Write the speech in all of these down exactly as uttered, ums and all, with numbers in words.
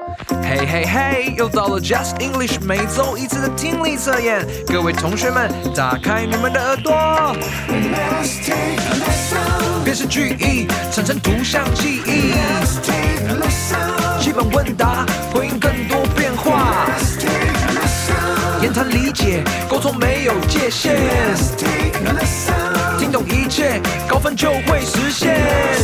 嘿嘿嘿，又到了 Just English 每周一次的听力测验，各位同学们，打开你们的耳朵。辨识句意，产生图像记忆。基本问答，回应更多变化。言谈理解，沟通没有界限。听懂一切，高分就会实现。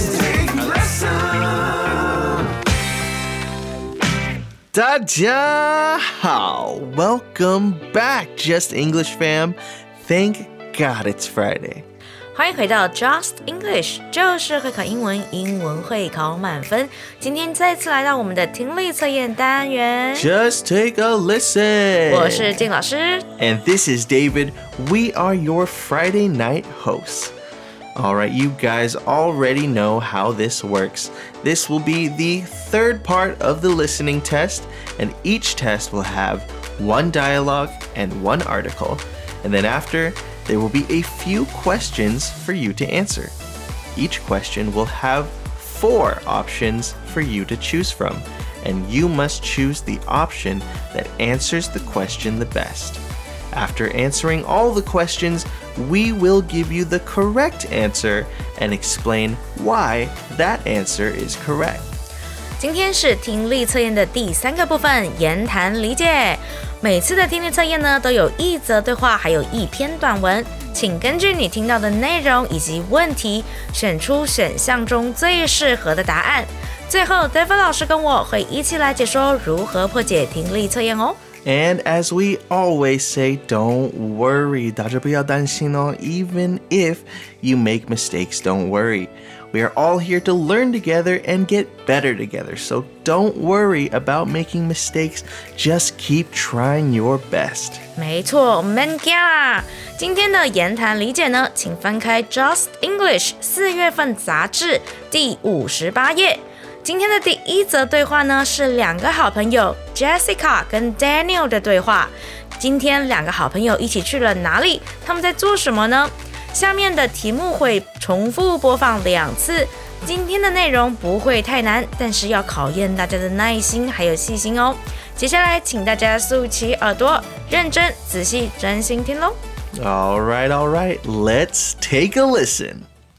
大家好 Welcome back, Just English fam. Thank God it's Friday. 欢迎回到 Just English， 就是会考英文，英文会考满分。今天再次来到我们的听力测验单元。 Just take a listen. 我是静老师 And this is David. We are your Friday night hosts. Alright, you guys already know how this works. This will be the third part of the listening test, and each test will have one dialogue and one article. And then after, there will be a few questions for you to answer. Each question will have four options for you to choose from, and you must choose the option that answers the question the best. After answering all the questions, we will give you the correct answer and explain why that answer is correct. 今天是听力测验的第三个部分，言谈理解。每次的听力测验呢，都有一则对话，还有一篇短文，请根据你听到的内容以及问题，选出选项中最适合的答案。最后 David 老师跟我会一起来解说如何破解听力测验哦。 And as we always say, don't worry. 大家不要担心哦。Even if you make mistakes, don't worry. We are all here to learn together and get better together. So don't worry about making mistakes. Just keep trying your best. 没错，免惊啦！今天的言谈理解呢，请翻开 Just English 四月份杂志第五十八页。今天的第一则对话呢，是两个好朋友 Jessica 跟 Daniel 的对话。今天两个好朋友一起去了哪里？他们在做什么呢？下面的题目会重复播放两次。今天的内容不会太难，但是要考验大家的耐心还有细心哦。接下来请大家竖起耳朵，认真、仔细、专心听咯。 All right, all right. Let's take a listen.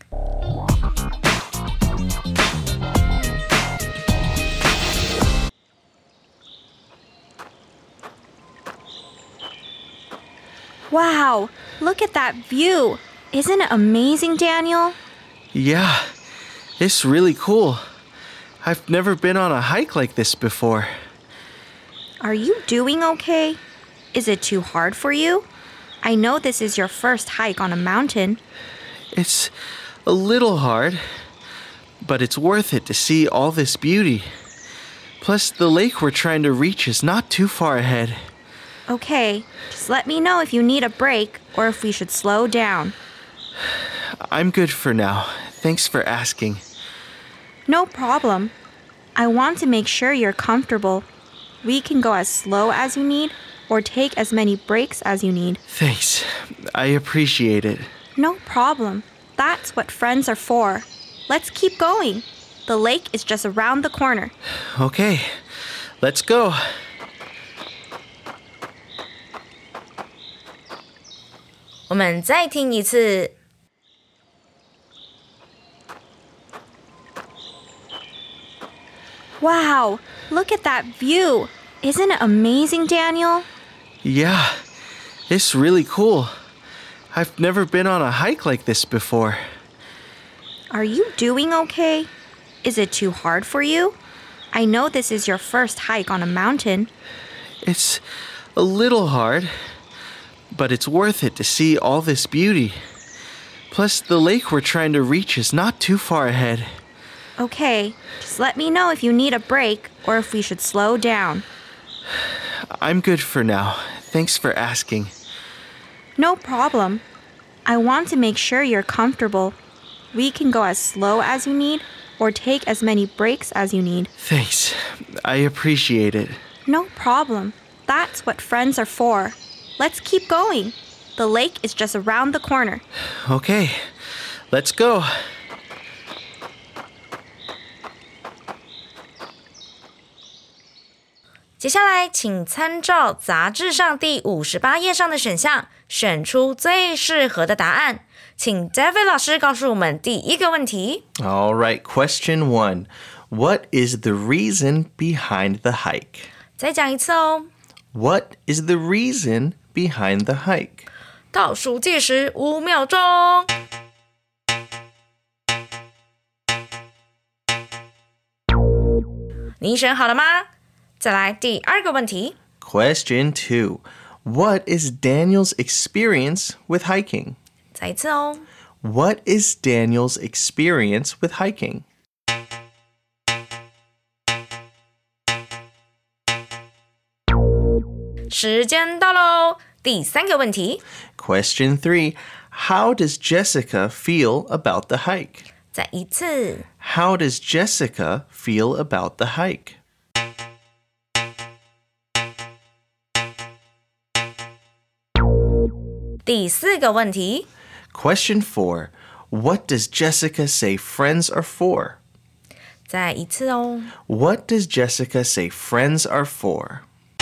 Wow, look at that view. Isn't it amazing, Daniel? Yeah, it's really cool. I've never been on a hike like this before. Are you doing okay? Is it too hard for you? I know this is your first hike on a mountain. It's a little hard, but it's worth it to see all this beauty. Plus, the lake we're trying to reach is not too far ahead. Okay, just let me know if you need a break or if we should slow down. I'm good for now. Thanks for asking. No problem. I want to make sure you're comfortable. We can go as slow as you need or take as many breaks as you need. Thanks. I appreciate it. No problem. That's what friends are for. Let's keep going. The lake is just around the corner. Okay, let's go. 我们再听一次。 Wow, look at that view. Isn't it amazing, Daniel? Yeah, it's really cool. I've never been on a hike like this before. Are you doing okay? Is it too hard for you? I know this is your first hike on a mountain. It's a little hard, but it's worth it to see all this beauty. Plus, the lake we're trying to reach is not too far ahead. Okay, just let me know if you need a break or if we should slow down. I'm good for now. Thanks for asking. No problem. I want to make sure you're comfortable. We can go as slow as you need or take as many breaks as you need. Thanks. I appreciate it. No problem. That's what friends are for. Let's keep going. The lake is just around the corner. Okay, let's go. 接下来，请参照杂志上第五十八页上的选项，选出最适合的答案。请 David 老师告诉我们第一个问题。 All right, question one. What is the reason behind the hike? 再讲一次哦。 What is the reason behind the hike? 倒数计时五秒钟。你选好了吗？再来第二个问题。 Question two. What is Daniel's experience with hiking? 再一次哦。 What is Daniel's experience with hiking? 时间到喽，第三个问题。 Question three. How does Jessica feel about the hike? 再一次。 How does Jessica feel about the hike? 第四个问题。 Question four. What does Jessica say friends are for? 再一次哦。 What does Jessica say friends are for?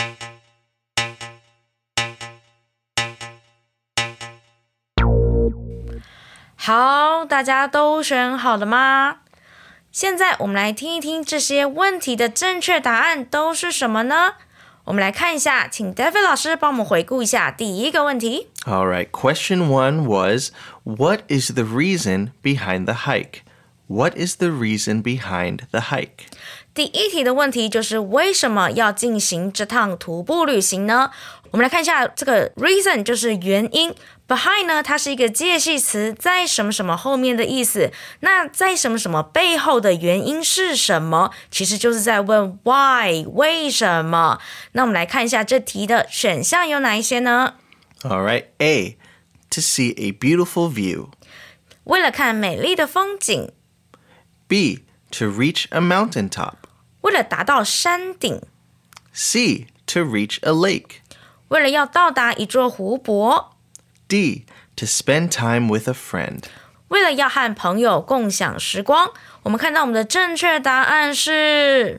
好，大家都选好了吗？现在我们来听一听这些问题的正确答案都是什么呢？我们来看一下，请 David 老师帮我们回顾一下第一个问题。 All right, question one was, what is the reason behind the hike? What is the reason behind the hike? 第一题的问题就是为什么要进行这趟徒步旅行呢？我们来看一下这个 reason 就是原因， behind 呢它是一个介系词，在什么什么后面的意思。那在什么什么背后的原因是什么？其实就是在问 why 为什么。那我们来看一下这题的选项有哪一些呢？ All right, A, to see a beautiful view. 为了看美丽的风景。 B, to reach a mountaintop. 为了达到山顶。 C, to reach a lake. 为了要到达一座湖泊。 D, to spend time with a friend. 为了要和朋友共享时光。我们看到我们的正确答案是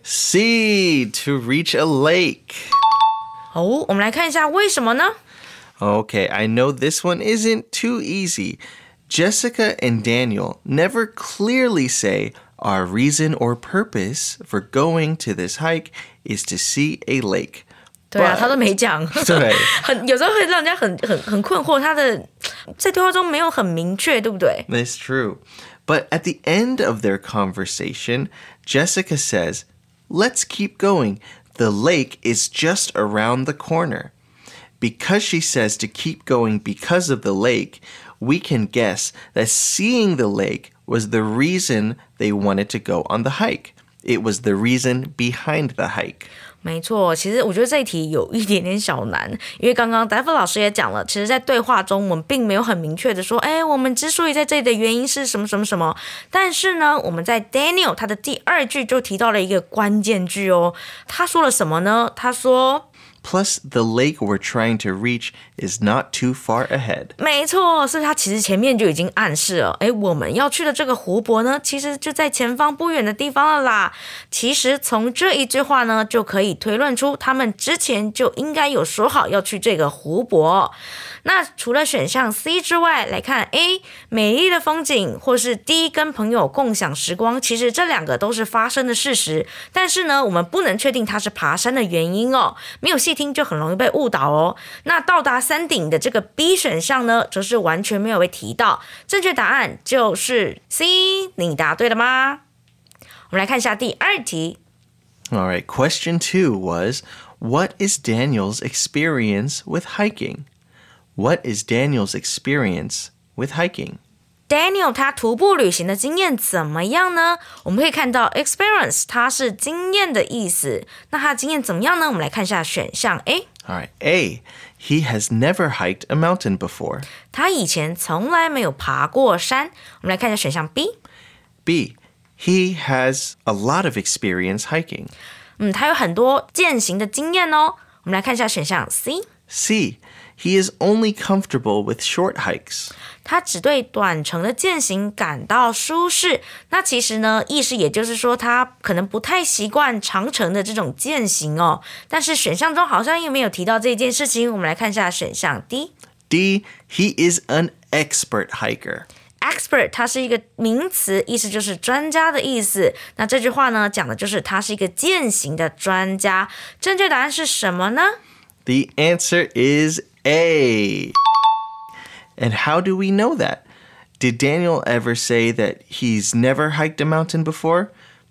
C, to reach a lake. 哦，我们来看一下为什么呢？ Okay, I know this one isn't too easy. Jessica and Daniel never clearly say our reason or purpose for going to this hike is to see a lake. 对啊， But- 他都没讲。 对很有时候会让人家很很很困惑，他的在对话中没有很明确，对不对？ That's true. But at the end of their conversation, Jessica says, let's keep going. The lake is just around the corner. Because she says to keep going because of the lake, we can guess that seeing the lake was the reason they wanted to go on the hike. It was the reason behind the hike. 没错，其实我觉得这一题有一点点小难，因为刚刚戴夫老师也讲了，其实在对话中我们并没有很明确的说，哎，我们之所以在这里的原因是什么什么什么。但是呢，我们在 Daniel 他的第二句就提到了一个关键句哦，他说了什么呢？他说 Plus, the lake we're trying to reach is not too far ahead. 没错，是他其实前面就已经暗示了，诶，我们要去的这个湖泊呢，其实就在前方不远的地方了啦。其实从这一句话呢，就可以推论出他们之前就应该有说好要去这个湖泊。那除了选项 C 之外，来看 A 美丽的风景，或是 D 跟朋友共享时光，其实这两个都是发生的事实，但是呢，我们不能确定它是爬山的原因哦，没有细听就很容易被误导哦。那到达山顶的这个 B 选项呢，则是完全没有被提到，正确答案就是 C， 你答对了吗？我们来看一下第二题。 All right, question two was, what is Daniel's experience with hiking? What is Daniel's experience with hiking? Daniel 他徒步旅行的经验怎么样呢？我们可以看到 experience 它是经验的意思，那他的经验怎么样呢？我们来看一下选项 A。 All right, A, he has never hiked a mountain before. 他以前从来没有爬过山。我们来看一下选项 B。 B, he has a lot of experience hiking. 嗯，他有很多健行的经验哦。我们来看一下选项 C。 C. He is only comfortable with short hikes. 他只对短程的健行感到舒适。那其实呢，意思也就是说他可能不太习惯长程的这种健行哦。但是选项中好像又没有提到这件事情。我们来看一下选项 D。 D. He is an expert hiker.Expert 它是一个名词，意思就是专家的意思。那这句话呢，讲的就是他是一个健行的专家。正确答案是什么呢？ The answer is A. And how do we know that? Did Daniel ever say that he's never hiked a mountain before?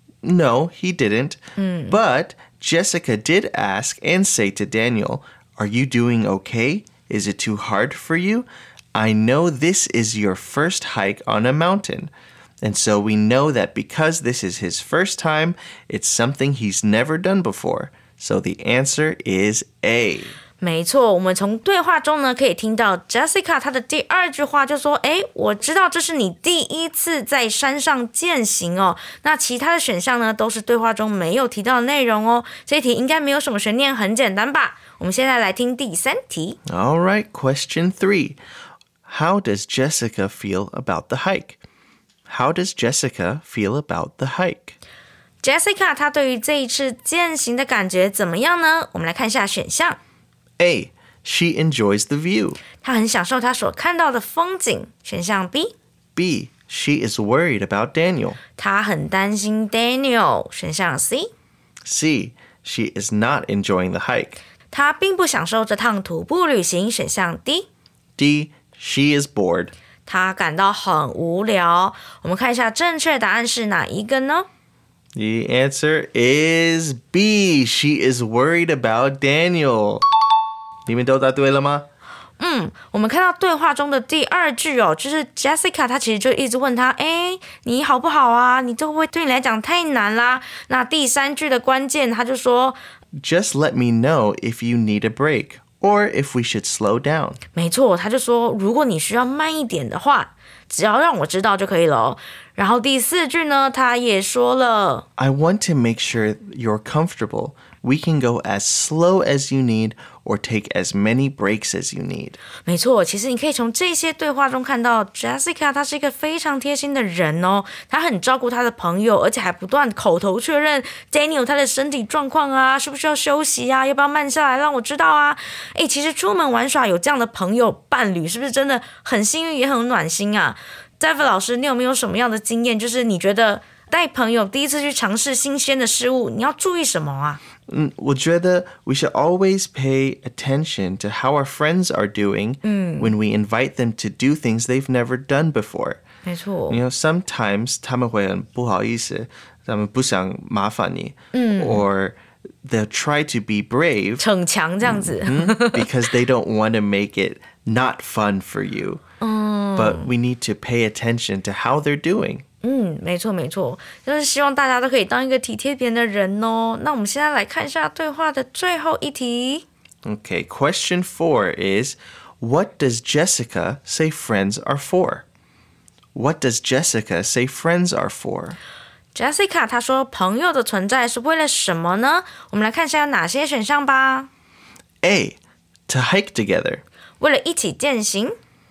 No, he didn't. Mm. But Jessica did ask and say to Daniel, "Are you doing okay? Is it too hard for you?I know this is your first hike on a mountain." And so we know that because this is his first time, it's something he's never done before. So the answer is A. 没错，我们从对话中呢可以听到 Jessica 她的第二句话就说，诶，我知道这是你第一次在山上健行哦。那其他的选项呢都是对话中没有提到的内容哦。这一题应该没有什么悬念，很简单吧？我们现在来听第三题。 All right, question three.How does Jessica feel about the hike? How does Jessica feel about the hike? Jessica 她对于这一次健行的感觉怎么样呢？我们来看一下选项。 A. She enjoys the view. 她很享受她所看到的风景。选项 B. B. She is worried about Daniel. 她很担心 Daniel。选项 C. C. She is not enjoying the hike. 她并不享受这趟徒步旅行。选项 D. D.She is bored. 他感到很无聊。我们看一下正确答案是哪一个呢？ The answer is B. She is worried about Daniel. 你们都答对了吗？ 嗯，我们看到对话中的第二句哦，就是 Jessica 她其实就一直问他，哎，你好不好啊？你这会不会对你来讲太难啦？那第三句的关键，他就说 Just let me know if you need a break.Or if we should slow down. 没错，他就说如果你需要慢一点的话，只要让我知道就可以了哦。然后第四句呢，他也说了 I want to make sure you're comfortable. We can go as slow as you need or take as many breaks as you need. 没错，其实你可以从这些对话中看到 Jessica 她是一个非常贴心的人哦，她很照顾她的朋友，而且还不断口头确认 Daniel 他的身体状况啊，需不需要休息啊，要不要慢下来让我知道啊。诶，其实出门玩耍有这样的朋友伴侣，是不是真的很幸运也很暖心啊？ David 老师，你有没有什么样的经验，就是你觉得带朋友第一次去尝试新鲜的事物，你要注意什么啊？ 嗯，我觉得 we should always pay attention to how our friends are doing when we invite them to do things they've never done before. 没错。 You know, sometimes 他们会很不好意思，他们不想麻烦你， or they'll try to be brave 逞强这样子 because they don't want to make it not fun for you. But we need to pay attention to how they're doing. 嗯，没错没错，就是希望大家都可以当一个体贴别人的人哦。那我们现在来看一下对话的最后一题。 Okay, question four is, what does Jessica say friends are for? What does Jessica say friends are for? Jessica 她说朋友的存在是为了什么呢？我们来看一下有哪些选项吧。 A. To hike together. 为了一起健行。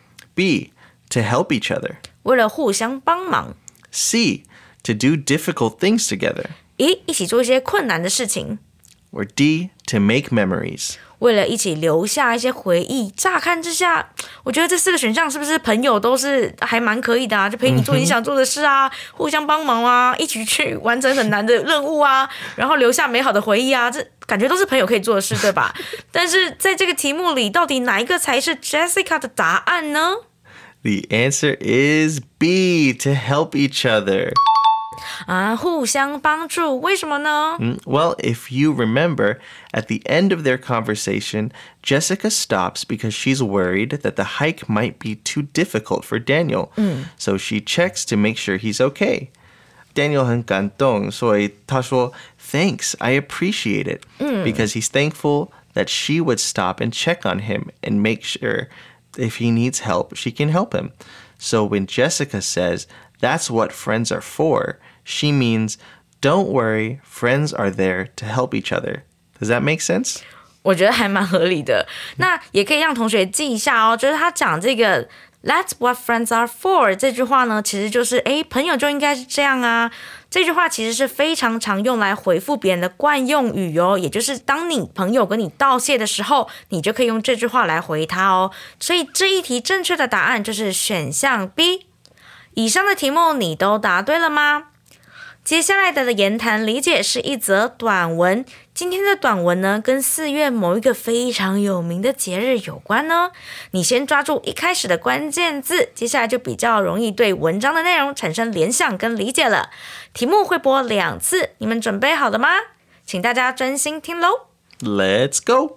B. To help each other. 为了互相帮忙。 C. To do difficult things together. 一一起做一些困难的事情。 Or D. To make memories. 为了一起留下一些回忆。乍看之下，我觉得这四个选项是不是朋友都是还蛮可以的啊？就陪你做你想做的事啊，互相帮忙啊，一起去完成很难的任务啊，然后留下美好的回忆啊，这感觉都是朋友可以做的事，对吧？但是在这个题目里，到底哪一个才是 Jessica 的答案呢？ The answer is B. To help each other. 啊，互相帮助，为什么呢？ Well, if you remember, at the end of their conversation, Jessica stops because she's worried that the hike might be too difficult for Daniel. So she checks to make sure he's okay. Daniel 很感动，所以他说 Thanks, I appreciate it. Because he's thankful that she would stop and check on him and make sure if he needs help, she can help him. So when Jessica says, that's what friends are for, she means, don't worry, friends are there to help each other. Does that make sense? 我觉得还蛮合理的。那也可以让同学记一下哦，就是他讲这个 That's what friends are for 这句话呢，其实就是诶，朋友就应该是这样啊。这句话其实是非常常用来回复别人的惯用语哦，也就是当你朋友跟你道谢的时候，你就可以用这句话来回他哦。所以这一题正确的答案就是选项 B。以上的题目你都答对了吗？接下来的言谈理解是一则短文。今天的短文呢，跟四月某一个非常有名的节日有关呢。你先抓住一开始的关键字，接下来就比较容易对文章的内容产生联想跟理解了。题目会播两次，你们准备好了吗？请大家专心听咯。 Let's go!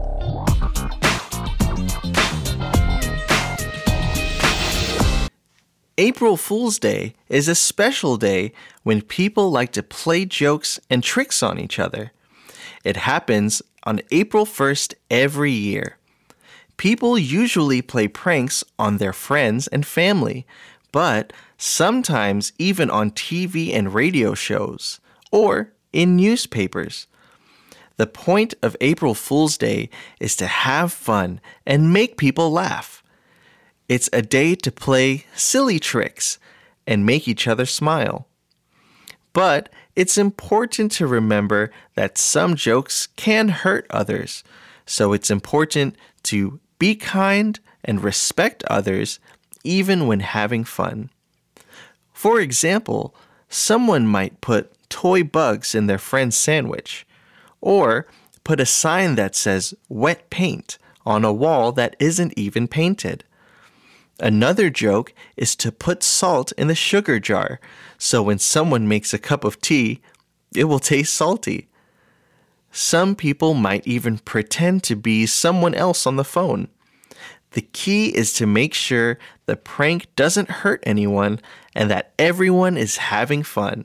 April Fool's Day is a special day when people like to play jokes and tricks on each other. It happens on April first every year. People usually play pranks on their friends and family, but sometimes even on T V and radio shows, or in newspapers. The point of April Fool's Day is to have fun and make people laugh. It's a day to play silly tricks and make each other smile. But it's important to remember that some jokes can hurt others, so it's important to be kind and respect others even when having fun. For example, someone might put toy bugs in their friend's sandwich, or put a sign that says wet paint on a wall that isn't even painted. Another joke is to put salt in the sugar jar, so when someone makes a cup of tea, it will taste salty. Some people might even pretend to be someone else on the phone. The key is to make sure the prank doesn't hurt anyone and that everyone is having fun.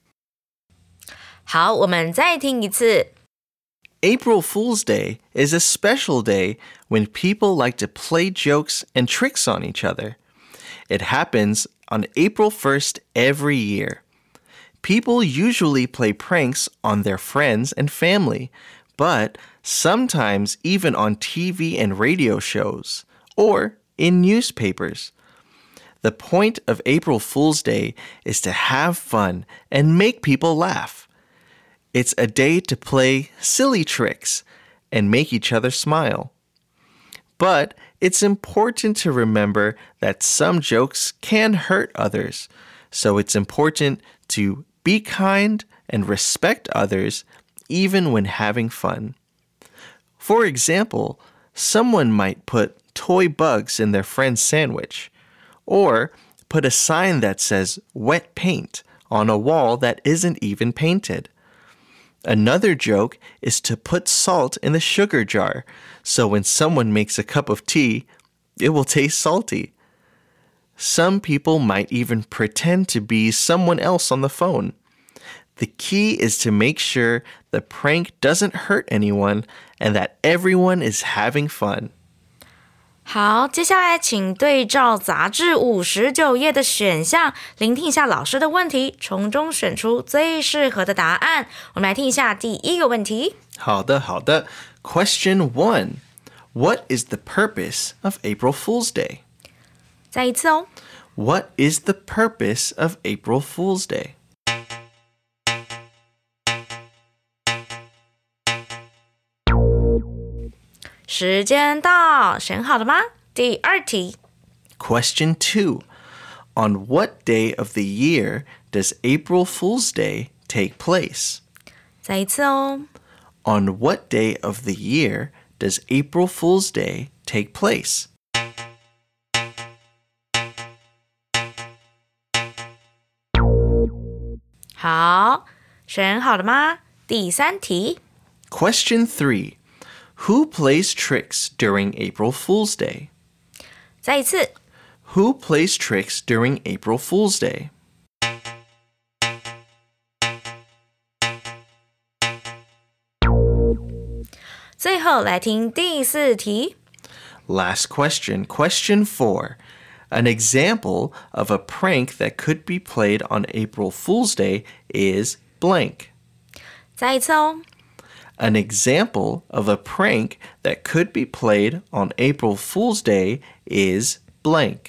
好，我们再听一次。 April Fool's Day is a special day when people like to play jokes and tricks on each other. It happens on April first every year. People usually play pranks on their friends and family, but sometimes even on T V and radio shows, or in newspapers. The point of April Fool's Day is to have fun and make people laugh. It's a day to play silly tricks and make each other smile. But it's important to remember that some jokes can hurt others, so it's important to be kind and respect others even when having fun. For example, someone might put toy bugs in their friend's sandwich, or put a sign that says wet paint on a wall that isn't even painted. Another joke is to put salt in the sugar jar, so when someone makes a cup of tea, it will taste salty. Some people might even pretend to be someone else on the phone. The key is to make sure the prank doesn't hurt anyone and that everyone is having fun. 好，接下来请对照杂志五十九页的选项，聆听一下老师的问题，从中选出最适合的答案。我们来听一下第一个问题。 好的，好的。Question one. What is the purpose of April Fool's Day? 再一次哦。 What is the purpose of April Fool's Day? 时间到，选好了吗？第二题。 Question two. On what day of the year does April Fool's Day take place? 再一次哦。 On what day of the year does April Fool's Day take place? 好，选好了吗？第三题。 Question three. Who plays tricks during April Fool's Day? 再一次。 Who plays tricks during April Fool's Day? 最后来听第四题。 Last question, question four. An example of a prank that could be played on April Fool's Day is blank. 再一次哦。 An example of a prank that could be played on April Fool's Day is blank.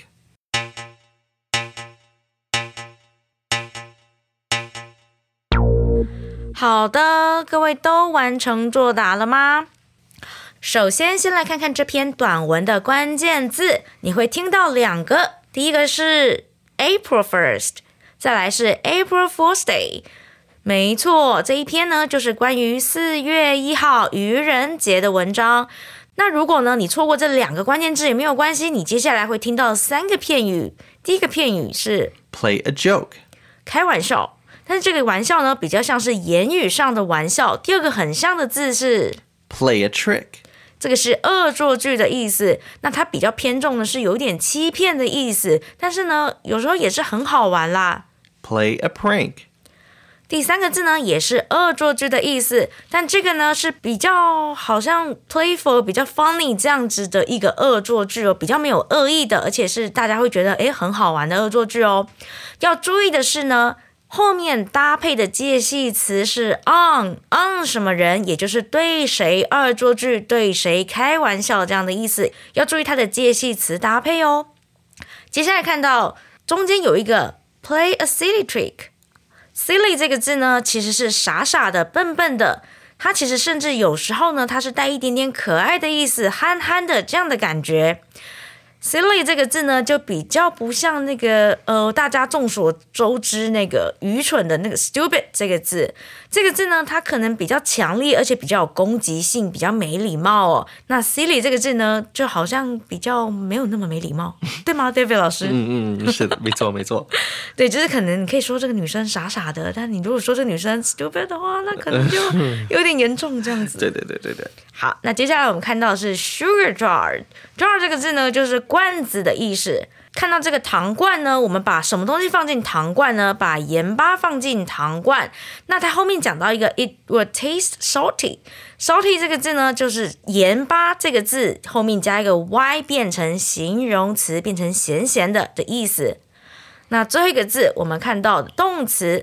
好的，各位都完成作答了吗？首先，先来看看这篇短文的关键字，你会听到两个，第一个是 April first， 再来是 April Fool's Day。没错，这一篇呢就是关于四月一号愚人节的文章。那如果呢你错过这两个关键字也没有关系，你接下来会听到三个片语。第一个片语是 Play a joke， 开玩笑。但是这个玩笑呢，比较像是言语上的玩笑。第二个很像的字是 play a trick， 这个是恶作剧的意思。那它比较偏重的是有点欺骗的意思，但是呢，有时候也是很好玩啦。 play a prank， 第三个字呢，也是恶作剧的意思，但这个呢是比较好像 playful、比较 funny 这样子的一个恶作剧哦，比较没有恶意的，而且是大家会觉得诶很好玩的恶作剧哦。要注意的是呢，后面搭配的介系词是 on on 什么人，也就是对谁恶作剧、对谁开玩笑这样的意思，要注意它的介系词搭配哦。接下来看到中间有一个 play a silly trick。silly 这个字呢，其实是傻傻的、笨笨的，它其实甚至有时候呢，它是带一点点可爱的意思，憨憨的这样的感觉。silly 这个字呢，就比较不像那个呃，大家众所周知那个愚蠢的那个 stupid 这个字。这个字呢，它可能比较强烈，而且比较有攻击性，比较没礼貌哦。那 silly 这个字呢，就好像比较没有那么没礼貌，对吗 ，David 老师？ 嗯嗯，是的，没错没错。 对，就是可能你可以说这个女生傻傻的，但你如果说这个女生 stupid 的话，那可能就有点严重这样子。 对对对对对。 好，那接下来我们看到的是 sugar jar。jar 这个字呢，就是罐子的意思。看到这个糖罐呢，我们把什么东西放进糖罐呢？把盐巴放进糖罐。那它后面讲到一个 it will taste salty。salty 这个字呢，就是盐巴这个字后面加一个 y 变成形容词，变成咸咸的的意思。那最后一个字我们看到的动词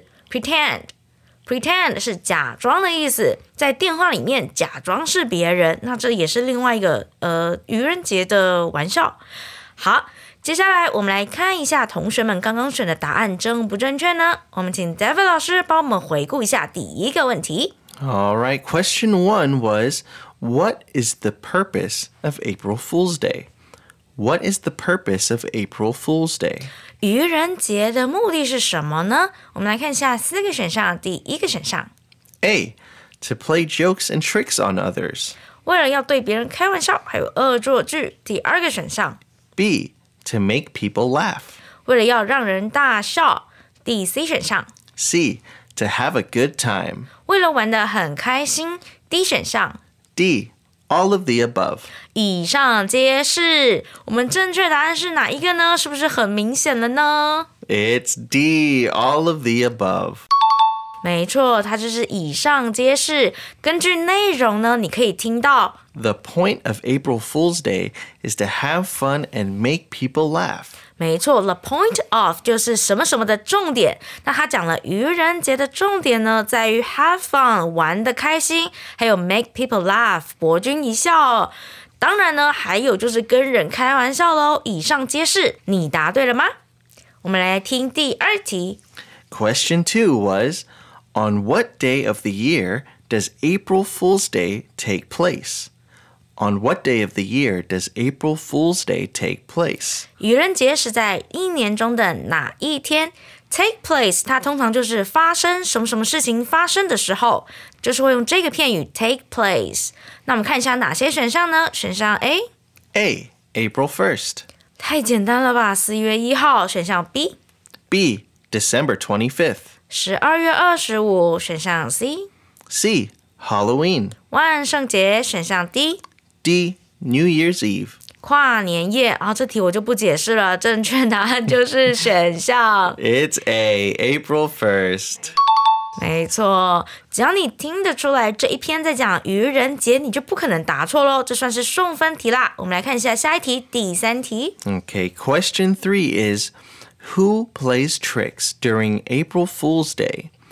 pretend。pretend 是假装的意思，在电话里面假装是别人，那这也是另外一个呃愚人节的玩笑。好，接下来我们来看一下同学们刚刚选的答案正不正确呢？我们请 David 老师帮我们回顾一下第一个问题。 All right, question one was, what is the purpose of April Fool's Day? What is the purpose of April Fool's Day? 愚人节的目的是什么呢？我们来看一下四个选项。第一个选项 A, to play jokes and tricks on others. 为了要对别人开玩笑，还有恶作剧。第二个选项 B, to make people laugh. 为了要让人大笑。第 C 选项 C, to have a good time. 为了玩得很开心。D 选项 D, all of the above. 以上皆是。我们正确答案是哪一个呢？是不是很明显了呢？ It's D, all of the above. 没错，它就是以上皆是。根据内容呢，你可以听到 The point of April Fool's Day is to have fun and make people laugh. 没错 ，the point of 就是什么什么的重点。那他讲了愚人节的重点呢，在于 have fun 玩得开心，还有 make people laugh 博君一笑。当然呢，还有就是跟人开玩笑咯。以上皆是，你答对了吗？我们来听第二题。 Question two was, on what day of the year does April Fool's Day take place? On what day of the year does April Fool's Day take place? 愚人节是在一年中的哪一天 ？Take place 它通常就是发生什么什么事情发生的时候，就是会用这个片语 take place。那我们看一下哪些选项呢？选项 A A, April first. 太简单了吧，四月一号。选项 B B, December twenty-fifth. 十二月二十五。选项 C C, Halloween. 万圣节。选项 D D, New Year's Eve. 跨年夜。然后这题我就不解释了，正确答案就是选项 It's A, April first. 没错，只要你听得出来这一篇在讲愚人节，你就不可能答错咯，这算是送分题啦。我们来看一下下一题，第三题。 Okay, question three is, who plays tricks during April Fool's Day?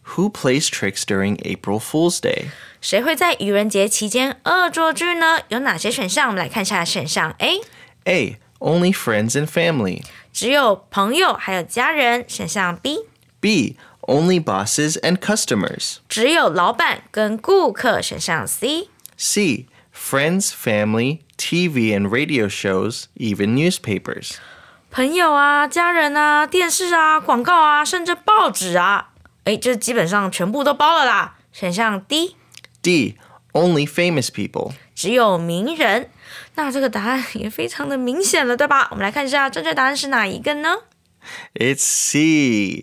Who plays tricks during April Fool's Day? 谁会在愚人节期间恶作剧呢？有哪些选项？我们来看一下选项 A。 A. Only friends and family. 只有朋友还有家人。选项 B。 B. Only bosses and customers. 只有老板跟顾客。选项 C。 C. Friends, family, T V and radio shows, even newspapers. 朋友啊，家人啊，电视啊，广告啊，甚至报纸啊，诶，这基本上全部都包了啦。选项 D。 D. Only famous people. 只有名人。那这个答案也非常的明显了，对吧？我们来看一下正确答案是哪一个呢？ It's C.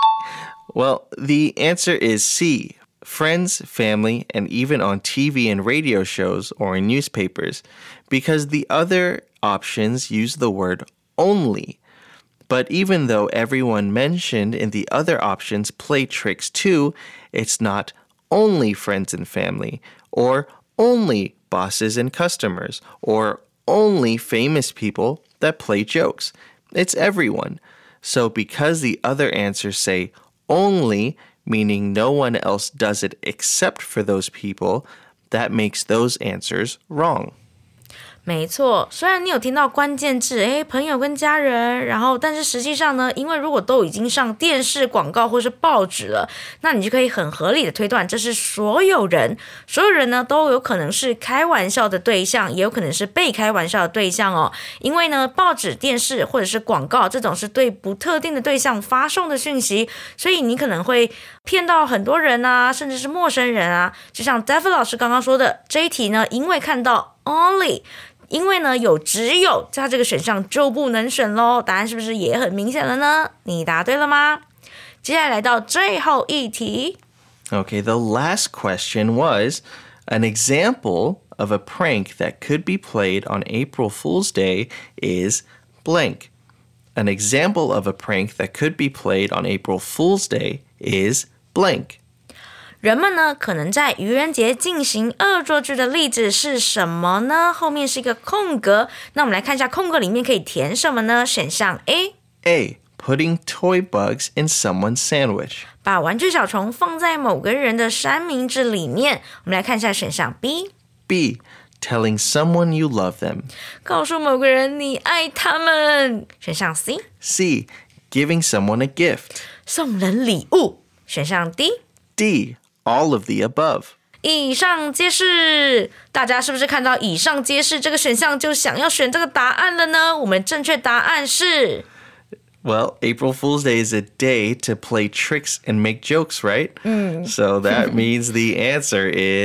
Well, the answer is C. Friends, family, and even on T V and radio shows or in newspapers, because the other options use the word only. But even though everyone mentioned in the other options play tricks too, it's not only friends and family, or only bosses and customers, or only famous people that play jokes. It's everyone. So because the other answers say only, meaning no one else does it except for those people, that makes those answers wrong. 没错，虽然你有听到关键字，诶，朋友跟家人，然后但是实际上呢，因为如果都已经上电视广告或是报纸了，那你就可以很合理的推断，这是所有人，所有人呢都有可能是开玩笑的对象，也有可能是被开玩笑的对象哦。因为呢，报纸、电视或者是广告这种是对不特定的对象发送的讯息，所以你可能会骗到很多人啊，甚至是陌生人啊。就像 David 老师刚刚说的，这一题呢，因为看到 only。因为呢有只有，它这个选项就不能选咯。答案是不是也很明显了呢？你答对了吗？接下来来到最后一题。 Okay, the last question was an example of a prank that could be played on April Fool's Day is blank. An example of a prank that could be played on April Fool's Day is blank. 人们呢可能在愚人节进行恶作剧的例子是什么呢？后面是一个空格，那我们来看一下空格里面可以填什么呢？选项 A。 A. Putting toy bugs in someone's sandwich. 把玩具小虫放在某个人的三明治里面。我们来看一下选项 B。 B. Telling someone you love them. 告诉某个人你爱他们。选项 C。 C. Giving someone a gift. 送人礼物。选项 D。 D. All of the above. 以上皆是，大家是不是看到以上皆是这个选项就想要选这个答案了呢？我们正确答案是 Well, April Fool's Day is a day to play tricks and make jokes, right? Mm. So that means the answer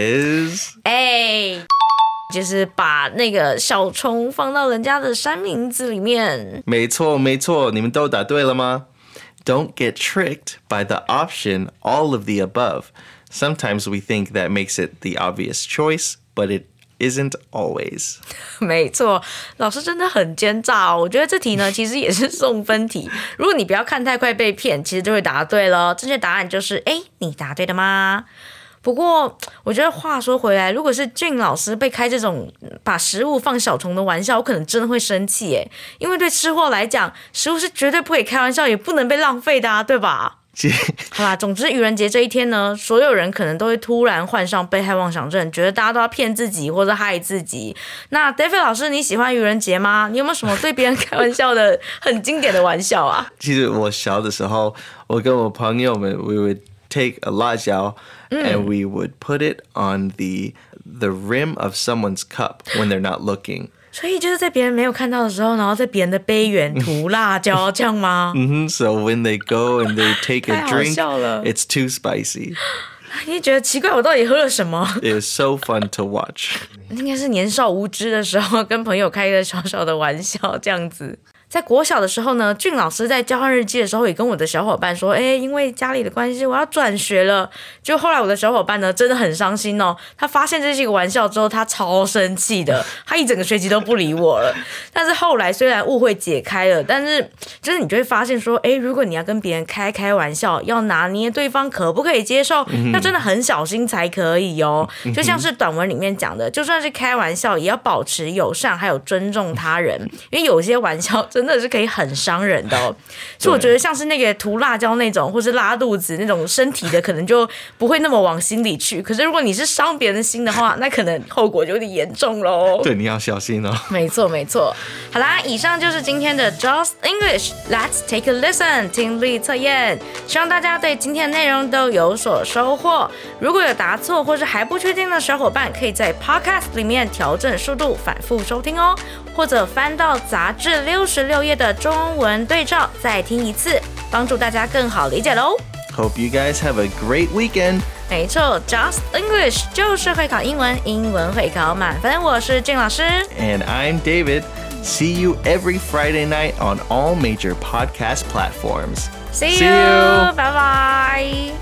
is A， 就是把那个小虫放到人家的三明治里面。 没错，没错，你们都答对了吗？ Don't get tricked by the option all of the above. Sometimes we think that makes it the obvious choice, but it isn't always. 没错，老师真的很奸诈哦。我觉得这题呢，其实也是送分题。如果你不要看太快被骗，其实就会答对了。正确答案就是，哎，你答对了吗？不过，我觉得话说回来，如果是俊老师被开这种把食物放小虫的玩笑，我可能真的会生气耶。因为对吃货来讲，食物是绝对不可以开玩笑，也不能被浪费的啊，对吧？好啦，总之愚人节这一天呢，所有人可能都会突然患上被害妄想症，觉得大家都要骗自己或者害自己。那 David 老师，你喜欢愚人节吗？你有没有什么对别人开玩笑的很经典的玩笑啊？ 其实我小的时候，我跟我朋友们 we would take a 辣椒 and we would put it on the the rim of someone's cup when they're not looking. 所以就是在别人没有看到的时候，然后在别人的杯缘涂辣椒，这样吗？ Mm-hmm. So when they go and they take a 太好 drink, 笑了。 it's too spicy. 你觉得奇怪，我到底喝了什么？ It was so fun to watch. 应该是年少无知的时候，跟朋友开一个小小的玩笑，这样子。在国小的时候呢，俊老师在交换日记的时候也跟我的小伙伴说，哎，因为家里的关系，我要转学了。就后来我的小伙伴呢，真的很伤心哦。他发现这是一个玩笑之后，他超生气的，他一整个学期都不理我了。但是后来虽然误会解开了，但是就是你就会发现说，哎，如果你要跟别人开开玩笑，要拿捏对方可不可以接受，要真的很小心才可以哦。就像是短文里面讲的，就算是开玩笑，也要保持友善，还有尊重他人，因为有些玩笑真的是可以很伤人的哦。所以我觉得像是那个涂辣椒那种，或是拉肚子那种身体的，可能就不会那么往心里去。可是如果你是伤别人的心的话，那可能后果就有点严重喽。 对，你要小心哦。 没错没错。好啦，以上就是今天的 Just English Let's take a listen 听力测验，希望大家对今天的内容都有所收获。如果有答错或是还不确定的小伙伴，可以在 Podcast 里面调整速度，反复收听哦，或者翻到杂志六十六页的中文对照再听一次，帮助大家更好理解喽。 Hope you guys have a great weekend. 没错 ，Just English 就是会考英文，英文会考满分。我是俊老师 And I'm David. See you every Friday night on all major podcast platforms. See you. See you. 拜拜。